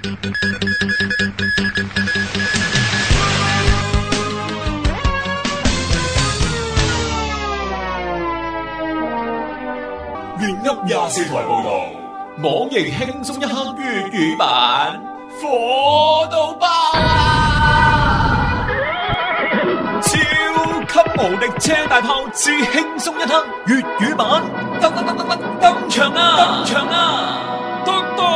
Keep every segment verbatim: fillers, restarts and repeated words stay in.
粵噏廿四台報道，網易輕鬆一刻粵語版，火到爆啊！超級無敵車大炮之輕鬆一刻粵語版，登登登登登登場啊！登場啊！登登！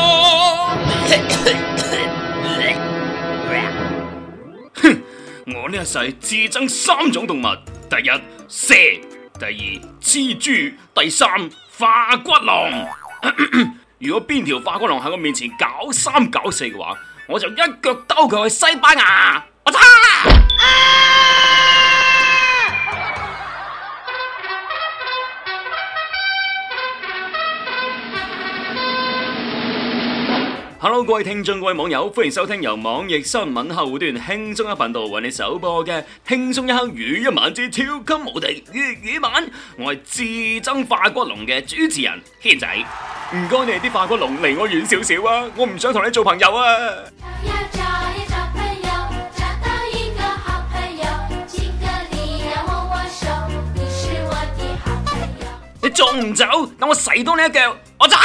哼！我呢一世自憎三種動物，第一蛇。第二蜘蛛，第三化骨龍。如果邊條化骨龍喺我面前搞三搞四嘅話，我就一腳兜佢去西班牙。我擦！啊 Hello， 各位聽眾、各位網友，歡迎收聽由網易新聞客戶端輕鬆一頻道為你首播嘅輕鬆一刻語一晚之超級無敵粵語版。我係自憎化骨龍嘅主持人軒仔，唔該你哋啲化骨龍離我遠少少啊！我唔想同你做朋友啊！你仲唔走？等我洗多你一腳！我走！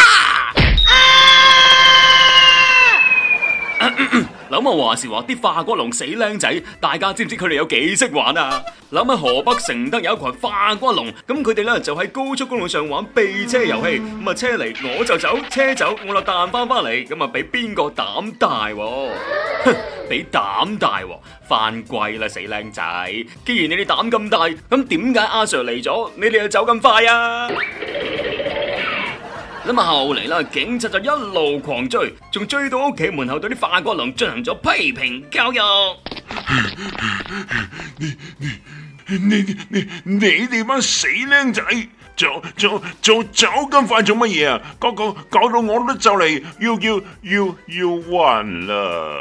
諗下話時話啲化骨龍死靚仔，大家知唔知佢哋有幾識玩啊？諗下河北承德有一群化骨龍，咁佢哋咧就喺高速公路上玩避車遊戲，咁啊車嚟我就走，車走我就彈翻翻嚟，咁啊俾邊個膽大？哼，俾膽大，犯貴啦死靚仔！既然你哋膽咁大，咁點解阿 Sir 嚟咗，你哋就走咁快啊？咁啊，後嚟啦，警察就一路狂追，仲追到屋企門口，對啲化骨龍進行咗批評教育。 你你你你你哋班死僆仔，做做做走咁快做乜嘢啊？嗰個搞到我都就嚟要要要要暈啦！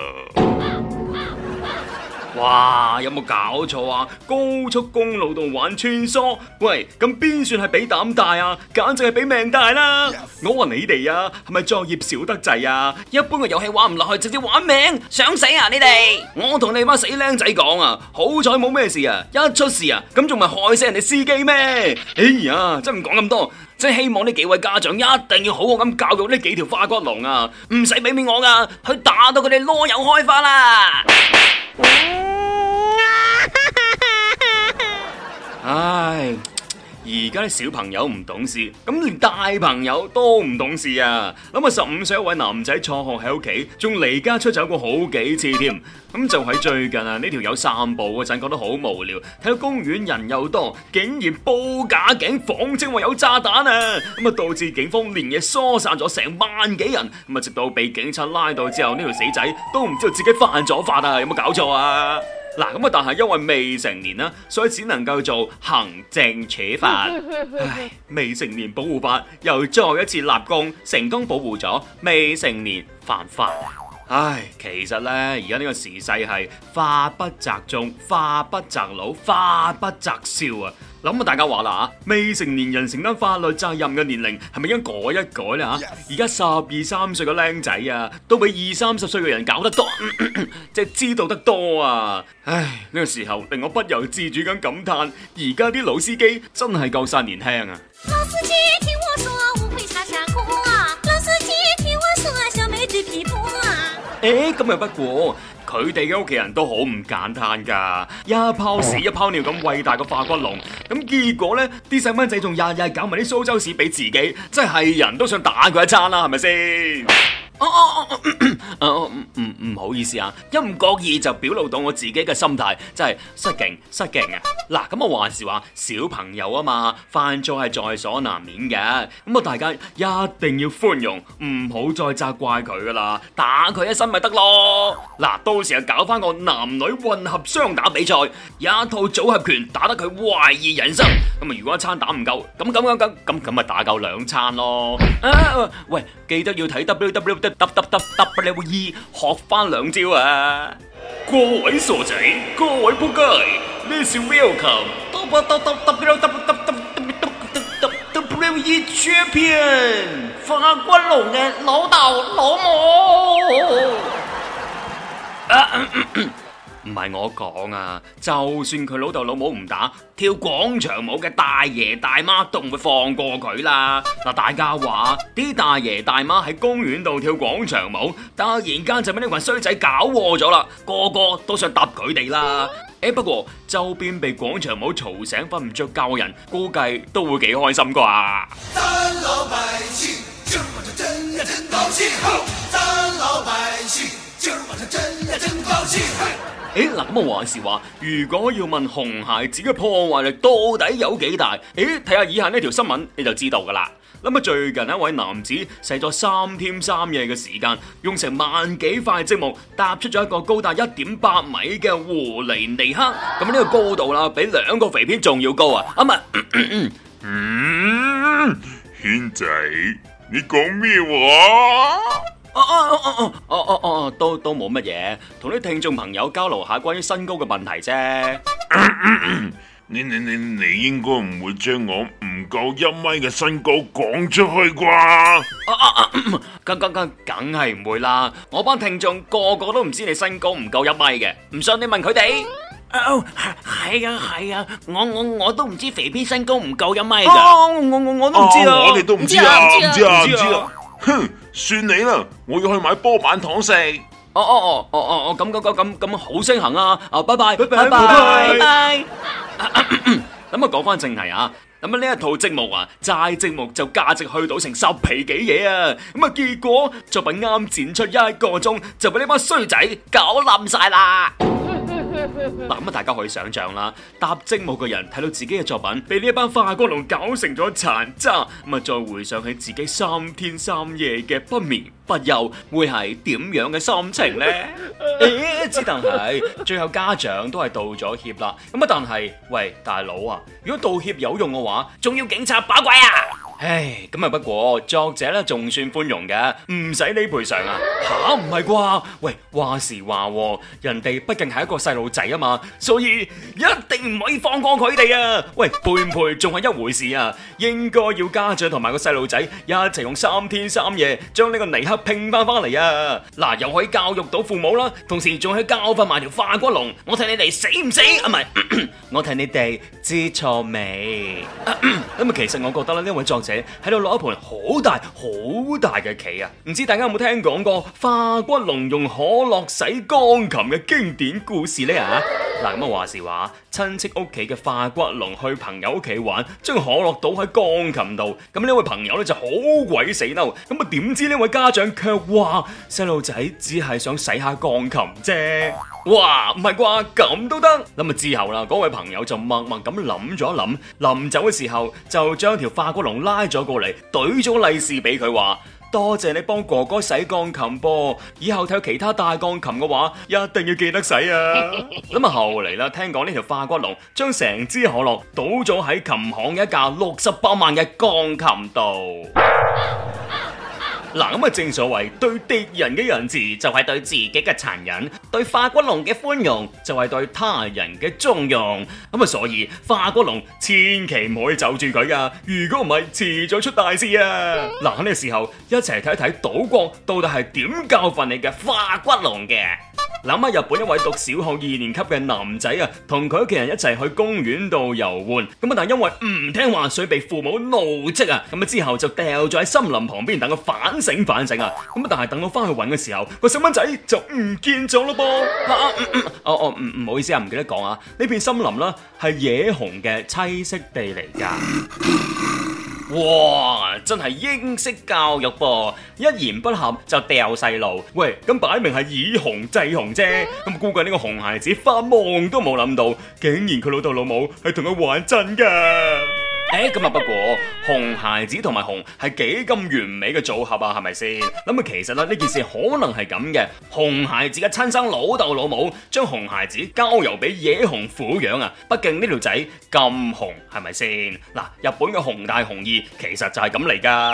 哇，有冇搞錯啊？高速公路度玩穿梭，喂，咁邊算係比膽大啊？簡直係比命大啦！ Yes. 我話你哋啊，係咪作業少得滯啊？一般嘅遊戲玩唔落去，直接玩命，想死啊你哋！我同你班死僆仔講啊，好彩冇咩事啊，一出事啊，咁仲咪害死人哋司機咩？哎呀，真唔講咁多，真係希望呢幾位家長一定要好好咁教育呢幾條化骨龍啊，唔使俾面我噶，去打到佢哋囉柚開花啦！唉，而家啲小朋友唔懂事，咁連大朋友都唔懂事啊！諗下十五歲一位男仔輟學喺屋企，仲離家出走過好幾次添。咁就喺最近啊，呢條友散步嗰陣覺得好無聊，睇到公園人又多，竟然報假警，謊稱話有炸彈啊！咁啊導致警方連夜疏散咗成萬幾人。咁啊直到被警察拉到之後，呢條死仔都唔知道自己犯咗法啊！有冇搞錯啊？嗱，咁啊，但係因為未成年啦，所以只能夠做行政處罰。唉，未成年保護法又再一次立功，成功保護咗未成年犯法。唉，其實咧，而家呢個時勢係法不責眾，法不責老，法不責少啊！諗下大家話啦啊，未成年人承擔法律責任嘅年齡係咪應該改一改咧吓？而家十二三歲嘅僆仔啊，都比二三十歲嘅人搞得多，即係知道得多啊！唉，呢個時候令我不由自主咁感嘆，而家啲老司機真係夠晒年輕啊！ 老司機聽我說，無悔下山坡啊！老司機聽我說，小妹最皮膚啊！ 誒，咁又不過。佢哋嘅屋企人都好唔簡單噶，一泡屎一泡尿咁餵大個化骨龍，咁結果呢啲細蚊仔仲日日搞埋啲蘇州屎俾自己，真係人都想打佢一餐啦，係咪先？哦哦哦，哦唔唔唔好意思啊，一唔覺意就表露到我自己嘅心態，真係失敬失敬啊！嗱，咁我話時話小朋友啊嘛，犯錯係在所難免嘅，咁啊大家一定要寬容，唔好再責怪佢噶啦，打佢一身咪得咯。嗱，到時候搞翻個男女混合雙打比賽，一套組合拳打得佢懷疑人生。咁啊，如果一餐打唔夠，咁咁咁咁咁咁咪打夠兩餐咯。啊，喂，記得要睇 W W W E 學翻兩招啊！各位傻仔，各位仆街，呢是 Welcome W E Champion 化骨龍嘅老豆老母。 唔係我講啊，就算佢老豆老母唔打，跳廣場舞嘅大爺大媽都唔會放過佢啦。嗱，大家話啲大爺大媽喺公園度跳廣場舞，突然間就俾呢群衰仔搞禍咗啦，個個都想揼佢哋啦。誒，不過周邊被廣場舞嘈醒瞓唔着覺嘅人，估計都會幾開心啩。 咱老百姓今儿晚上真呀真高興，咱老百姓今兒晚上真呀真高興。 誒，嗱，咁啊話時話，如果要問紅孩子嘅破壞力到底有幾大？誒，睇下以下呢條新聞你就知道噶啦。咁啊，最近一位男子使咗三天三夜嘅時間，用成萬幾塊積木搭出咗一個高達一點八米嘅狐狸尼克。咁呢個高度啦，比兩個肥片仲要高啊！啊唔係， 嗯，軒仔，你講咩話？ 哦哦哦哦哦哦哦，都都冇乜嘢，同啲聽眾朋友交流下關於身高嘅問題啫。 你你你你應該唔會將我唔夠一米嘅身高講出去啩？ 啊啊啊！梗梗梗梗係唔會啦，我班聽眾個個都唔知你身高唔夠一米嘅，唔信你問佢哋。 哦，係啊係啊，我我我都唔知肥邊身高唔夠一米噶。 哦，我我我都唔知啊， 我哋都唔知啊，唔知啊，唔知啊。 唔知啊。 哼，算你啦，我要去買波板糖食。 哦哦哦哦哦，咁咁咁咁咁好聲行啊！啊，拜拜拜拜拜拜拜。 咁啊，講翻正題啊。咁啊，呢一套積木啊，齋積木就價值去到成十皮幾嘢啊！咁啊，結果作品啱展出一個鐘，就俾呢班衰仔搞冧晒啦！嗱，咁啊，大家可以想象啦，搭積木嘅人睇到自己嘅作品被呢一班化骨龍搞成咗殘渣，咁啊，再回想起自己三天三夜嘅不眠不休，會係點樣嘅心情呢？誒，只但係最後家長都係道咗歉啦。咁啊，但係喂，大佬啊，如果道歉有用嘅話，仲要警察把鬼啊！唉，咁啊，不過作者咧仲算寬容嘅，唔使你賠償啊。吓，唔係啩？喂，話時話，人哋畢竟係一個細路仔啊嘛，所以一定唔可以放過佢哋啊。喂，賠唔賠仲係一回事啊，應該要家長同埋個細路仔一齊用三天三夜將呢個尼克拼翻翻嚟啊。嗱，又可以教育到父母啦，同時仲可以教訓埋條化骨龍。我睇你哋死唔死啊？唔係，我睇你哋知錯未？咁啊，其實我覺得咧，呢位作者喺度攞一盤好大好大嘅棋啊！唔知大家有冇聽講過化骨龍用可樂洗鋼琴嘅經典故事呢？啊！嗱，咁啊話時話，親戚屋企嘅化骨龍去朋友屋企玩，將可樂倒喺鋼琴度，咁呢位朋友咧就好鬼死嬲，咁啊點知呢位家長卻話細路仔只係想洗下鋼琴啫。哇，唔係啩？咁都得？咁啊之後啦，嗰位朋友就默默咁諗咗一諗，臨走嘅時候就將條化骨龍拉咗過嚟，懟咗利是俾佢話：多謝你幫哥哥洗鋼琴噃，以後睇其他大鋼琴嘅話，一定要記得洗啊！咁啊後嚟啦，聽講呢條化骨龍將成支可樂倒咗喺琴行一架六十八萬嘅鋼琴度。嗱，咁啊，正所謂對敵人嘅仁慈就係對自己嘅殘忍，對化骨龍嘅寬容就係對他人嘅縱容。咁啊，所以化骨龍千祈唔可以就住佢噶，如果唔係遲早出大事啊！嗱，喺呢個時候一齊睇睇島國到底係點教訓你嘅化骨龍嘅。諗下日本一位讀小學二年級嘅男仔啊，同佢屋企人一齊去公園度遊玩，咁啊但係因為唔聽話，所以被父母怒斥啊，咁啊之後就掉咗喺森林旁邊等佢反省反省啊，咁啊但係等我翻去揾嘅時候，個細蚊仔就唔見咗咯噃。啊嗯嗯、哦哦唔唔好意思啊，唔記得講啊，呢片森林啦係野熊嘅棲息地嚟噶。哇，真係英式教育噃，一言不合就掉細路。喂，咁擺明係以熊制熊啫。咁估計呢個熊孩子發夢都冇諗到，竟然佢老豆老母係同佢玩真噶。誒，咁啊，不過熊孩子同埋熊係幾咁完美嘅組合啊，係咪先？咁啊，其實啦，呢件事可能係咁嘅。熊孩子嘅親生老豆老母將熊孩子交由俾野熊撫養啊，畢竟呢條仔咁熊，係咪先？嗱，日本嘅熊大熊二其實就係咁嚟噶。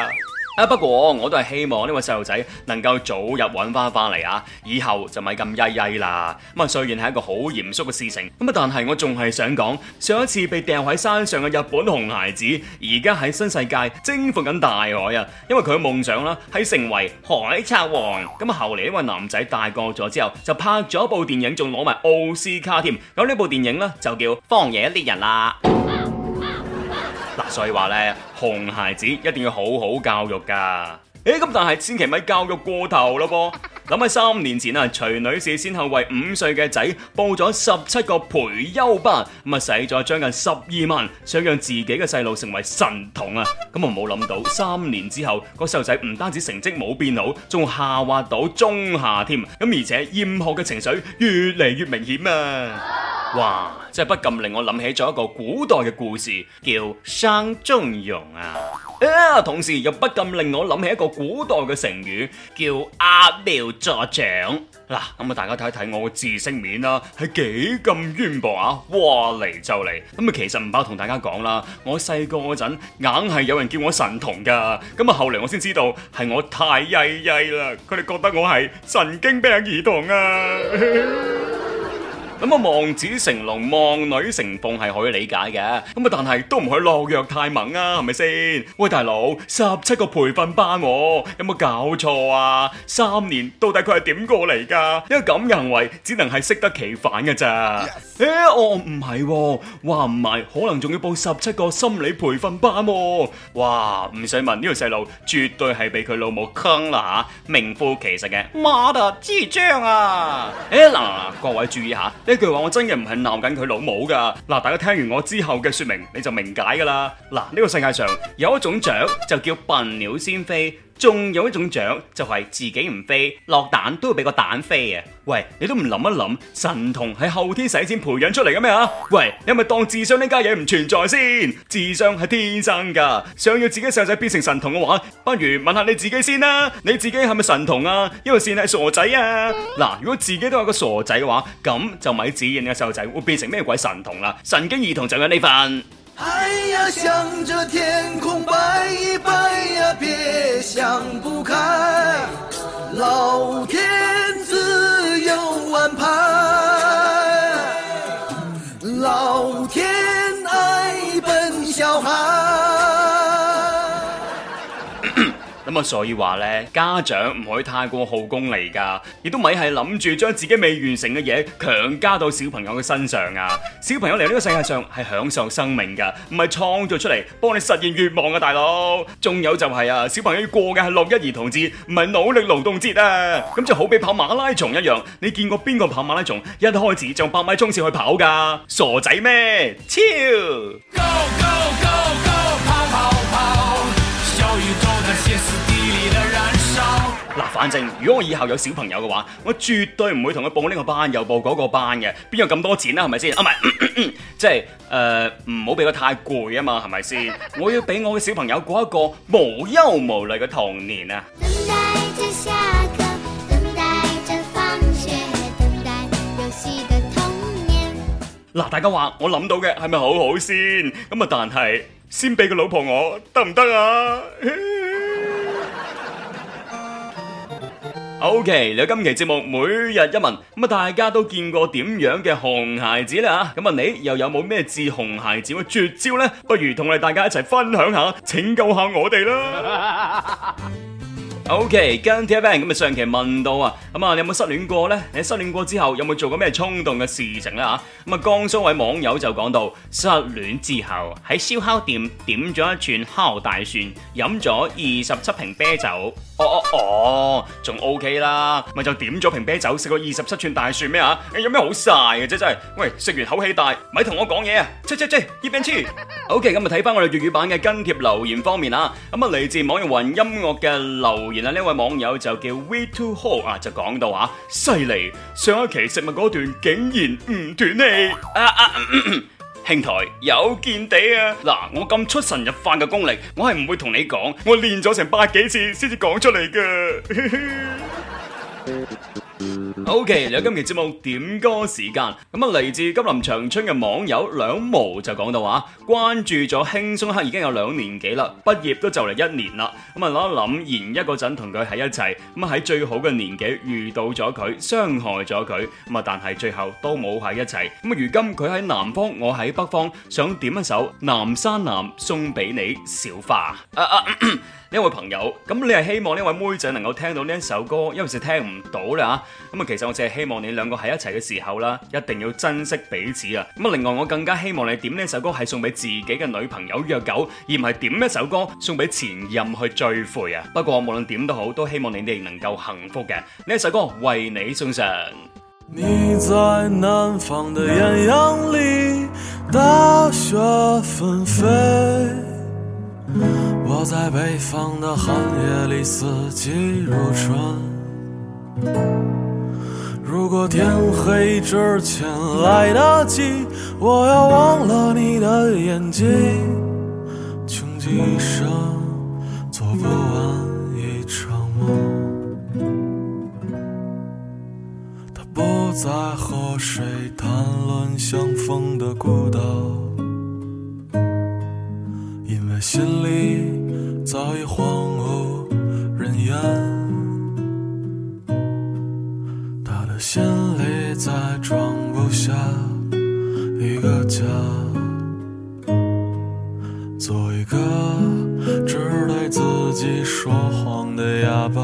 啊，不過我都係希望呢位細路仔能夠早日揾翻翻嚟啊，以後就咪咁曳曳啦。咁啊，雖然係一個好嚴肅嘅事情，咁啊，但係我仲係想講，上一次被掉喺山上嘅日本熊孩子，而家喺新世界征服緊大海啊！因為佢嘅夢想啦係成為海賊王。咁啊，後嚟呢位男仔大個咗之後，就拍咗部電影，仲攞埋奧斯卡添。咁呢部電影呢，就叫《荒野獵人》啦。嗱，所以話咧，熊孩子一定要好好教育噶。誒，咁但係千祈咪教育過頭咯噃。諗喺三年前啊，徐女士先後為五歲嘅仔報咗十七個培優班，咁啊使咗將近十二萬，想讓自己嘅細路成為神童啊。咁啊冇諗到三年之後，個細路仔唔單止成績冇變好，仲下滑到中下添。咁而且厭學嘅情緒越嚟越明顯啊！哇，真係不禁令我諗起咗一個古代嘅故事，叫生中庸啊！啊，同時又不禁令我諗起一個古代嘅成語，叫揠苗助長。嗱，咁啊，大家睇睇我嘅知識面啦，係幾咁淵博啊！哇，嚟就嚟。咁啊，其實唔怕同大家講啦，我細個嗰陣硬係有人叫我神童噶，咁啊後嚟我先知道係我太曳曳啦，佢哋覺得我係神經病兒童啊！咁啊，望子成龍，望女成鳳係可以理解嘅，咁啊，但係都唔可以落藥太猛啊，係咪先？喂，大佬，十七個培訓班，啊，有冇搞錯啊？三年到底佢係點過嚟噶？因為咁嘅行為只能係適得其反嘅咋？誒 Yes.、欸，我唔係，話唔係，可能仲要報十七個心理培訓班，啊，哇！唔使問，呢個細路絕對係俾佢老母坑啦吓，名副其實嘅媽的智障啊！誒、欸，嗱，各位注意下。呢句話我真嘅唔係鬧緊佢老母噶，嗱，大家聽完我之後嘅說明你就明解噶啦。嗱，呢個世界上有一種雀就叫笨鳥先飛，仲有一種雀就係自己唔飛，落蛋都會俾個蛋飛啊！喂，你都唔諗一諗，神童係後天使錢培養出嚟嘅咩啊？喂，你係咪當智商呢家嘢唔存在先？智商係天生噶，想要自己細路仔變成神童嘅話，不如問下你自己先啦。你自己係咪神童啊？因為先係傻仔啊！嗱，如果自己都係個傻仔嘅話，咁就咪指認嘅細路仔會變成咩鬼神童啦？神經兒童就有呢份。 哎呀，向着天空拜一拜呀，別想不開，老天自有安排，老天愛笨小孩。 咁啊，所以話咧，家長唔可以太過耗功利噶，亦都咪係諗住將自己未完成嘅嘢強加到小朋友嘅身上啊！小朋友嚟呢個世界上係享受生命噶，唔係創造出嚟幫你實現願望啊，大佬！仲有就係啊，小朋友要過嘅係六一兒童節，唔係努力勞動節啊！咁就好比跑馬拉松一樣，你見過邊個跑馬拉松一開始就百米衝線去跑噶？傻仔咩？超 Go go go go 跑跑跑，小宇宙的歇斯底里的燃燒。 嗱，反正如果我以後有小朋友嘅話，我絕對唔會同佢報呢個班又報嗰個班嘅，邊有咁多錢啊？係咪先？啊，唔係，即係誒，唔好俾佢太攰啊嘛，係咪先？我要俾我嘅小朋友過一個無憂無慮嘅童年啊！ 等待着下課，等待着放學，等待遊戲的童年。 嗱，大家話我諗到嘅係咪好好先？咁啊，但係先俾個老婆我得唔得啊？OK，嚟到今期節目每日一問，咁啊大家都見過點樣嘅熊孩子啦吓，咁啊你又有冇咩治熊孩子嘅絕招呢？不如同我哋大家一齊分享下，拯救下我哋啦！OK， 跟住 T-Bang 咁啊，上期問到啊，咁啊你有冇失戀過呢？你失戀過之後有冇做過咩衝動嘅事情呢？吓？咁啊，江蘇位網友就講到，失戀之後喺燒烤店點咗一串烤大蒜，飲咗二十七瓶啤酒。哦哦哦，仲 OK 啦，咪就點咗瓶啤酒，食過二十七串大蒜咩啊？有咩好晒嘅啫，真係。喂，食完口氣大，咪同我講嘢啊！切切切，一邊黐。OK，咁啊睇翻我哋粵語版嘅跟帖留言方面啊，咁啊嚟自網易雲音樂嘅留言啊，呢位網友就叫 We Too Hot 啊，就講到啊，犀利，上一期食物嗰段竟然唔斷氣啊啊！咳咳兄台有見地啊！嗱，我咁出神入化嘅功力，我係唔會同你講，我練咗成百幾次先至講出嚟㗎。 OK， 嚟到今期節目點歌時間，咁啊嚟自吉林長春嘅網友兩毛就講到話，關注咗輕鬆一刻已經有兩年幾啦，畢業都就嚟一年啦，咁啊諗一諗，研一嗰陣同佢喺一齊，咁啊喺最好嘅年紀遇到咗佢，傷害咗佢，咁啊但係最後都冇喺一齊，咁啊如今佢喺南方，我喺北方，想點一首《南山南》送俾你小花。啊啊呢位朋友，咁你係希望呢位妹仔能夠聽到呢一首歌，因為是聽唔到啦吓。咁啊，其實我淨係希望你兩個喺一齊嘅時候啦，一定要珍惜彼此啊。咁啊，另外我更加希望你點呢首歌係送俾自己嘅女朋友約狗，而唔係點一首歌送俾前任去追悔啊。不過無論點都好，都希望你哋能夠幸福嘅。呢一首歌為你送上。 你在南方的豔陽裡，大雪紛飛，我在北方的寒夜裡，四季如春。如果天黑之前來得及，我要忘了你的眼睛，窮極一生做不完一場夢。他不再和誰談論相逢的孤島，因為心裡早已荒無人煙，他的心裡再裝不下一個家，做一個只對自己說謊的啞巴。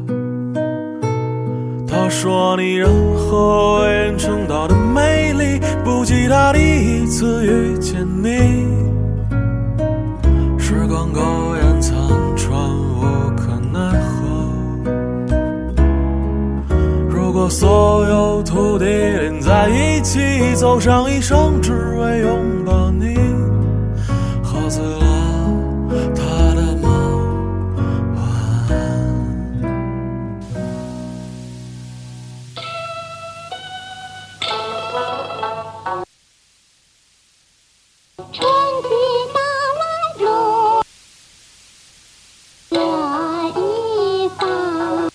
他說你任何為人稱道的美麗，不及他第一次遇見你。時光苟延殘喘，無可奈何。如果所有土地連在一起，走上一生只為擁抱你，喝醉了他的夢，晚安。 春去到来如热一方。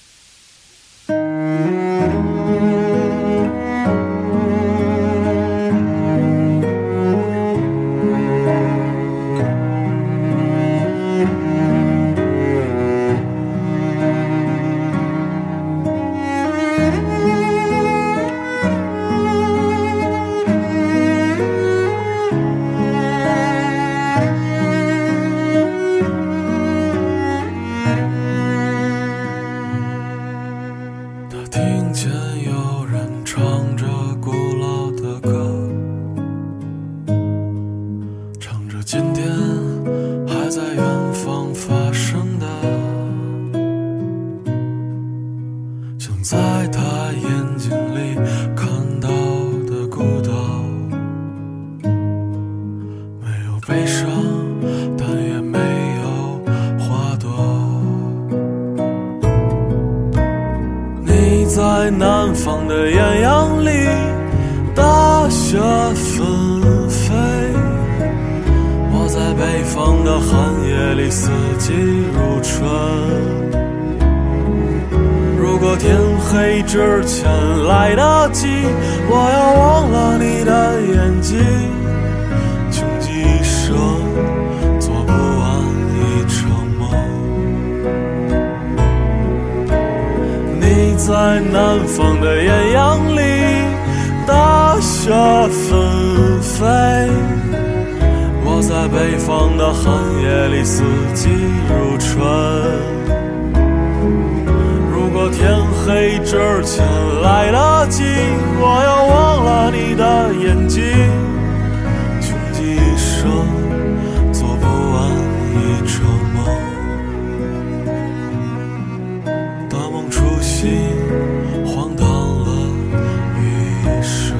聽見有人唱着古老的歌，唱着今天還在遠方發生的，像在他眼睛裡看到的孤島，沒有悲傷，但也沒有花朵。你在南方的豔陽裡，大雪紛飛，我在北方的寒夜裡，四季如春。如果天黑之前來得及，我要忘了你的眼睛，窮極一生做不完一場夢。你在南方的豔陽裡，大雪紛飛，我在北方的寒夜裡，四季如春。如果天黑之前來得及，我要忘了你的眼睛，窮極一生做不完一場夢，大夢初醒，荒唐了餘生。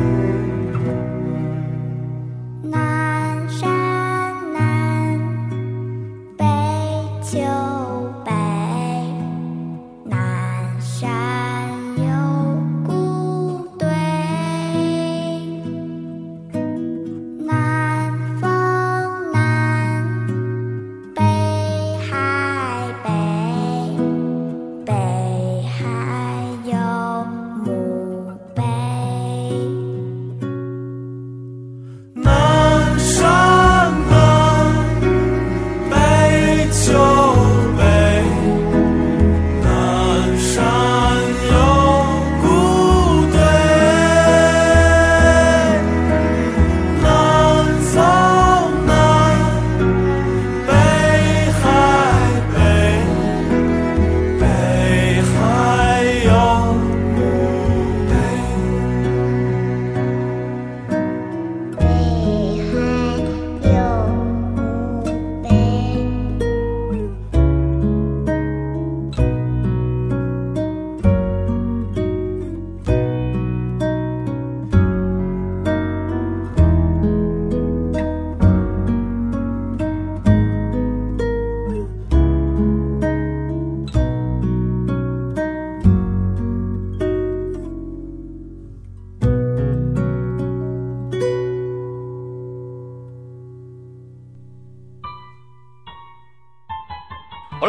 南山南，北秋北，南山有古堆。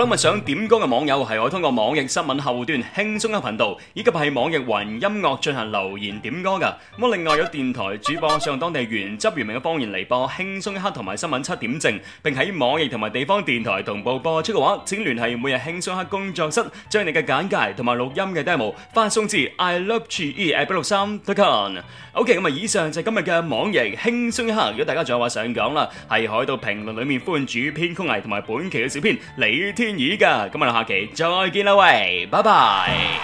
咁啊想點歌嘅網友係可以通過網易新聞客戶端輕鬆一頻道，以及係網易雲音樂進行留言點歌噶。咁另外有電台主播上當地原汁原味嘅方言嚟播輕鬆一刻同埋新聞七點正，並喺網易同埋地方電台同步播出嘅話，請聯繫每日輕鬆一刻工作室，將你嘅簡介同埋錄音嘅 demo 發送至 i love g e at 一六三 dot com。OK， 咁啊以上就係今日嘅網易輕鬆一刻。如果大家仲有話想講啦，係可以到評論裏面歡迎主編曲藝同埋本期嘅小編李天意噶。咁我哋下期再見啦，喂，拜拜。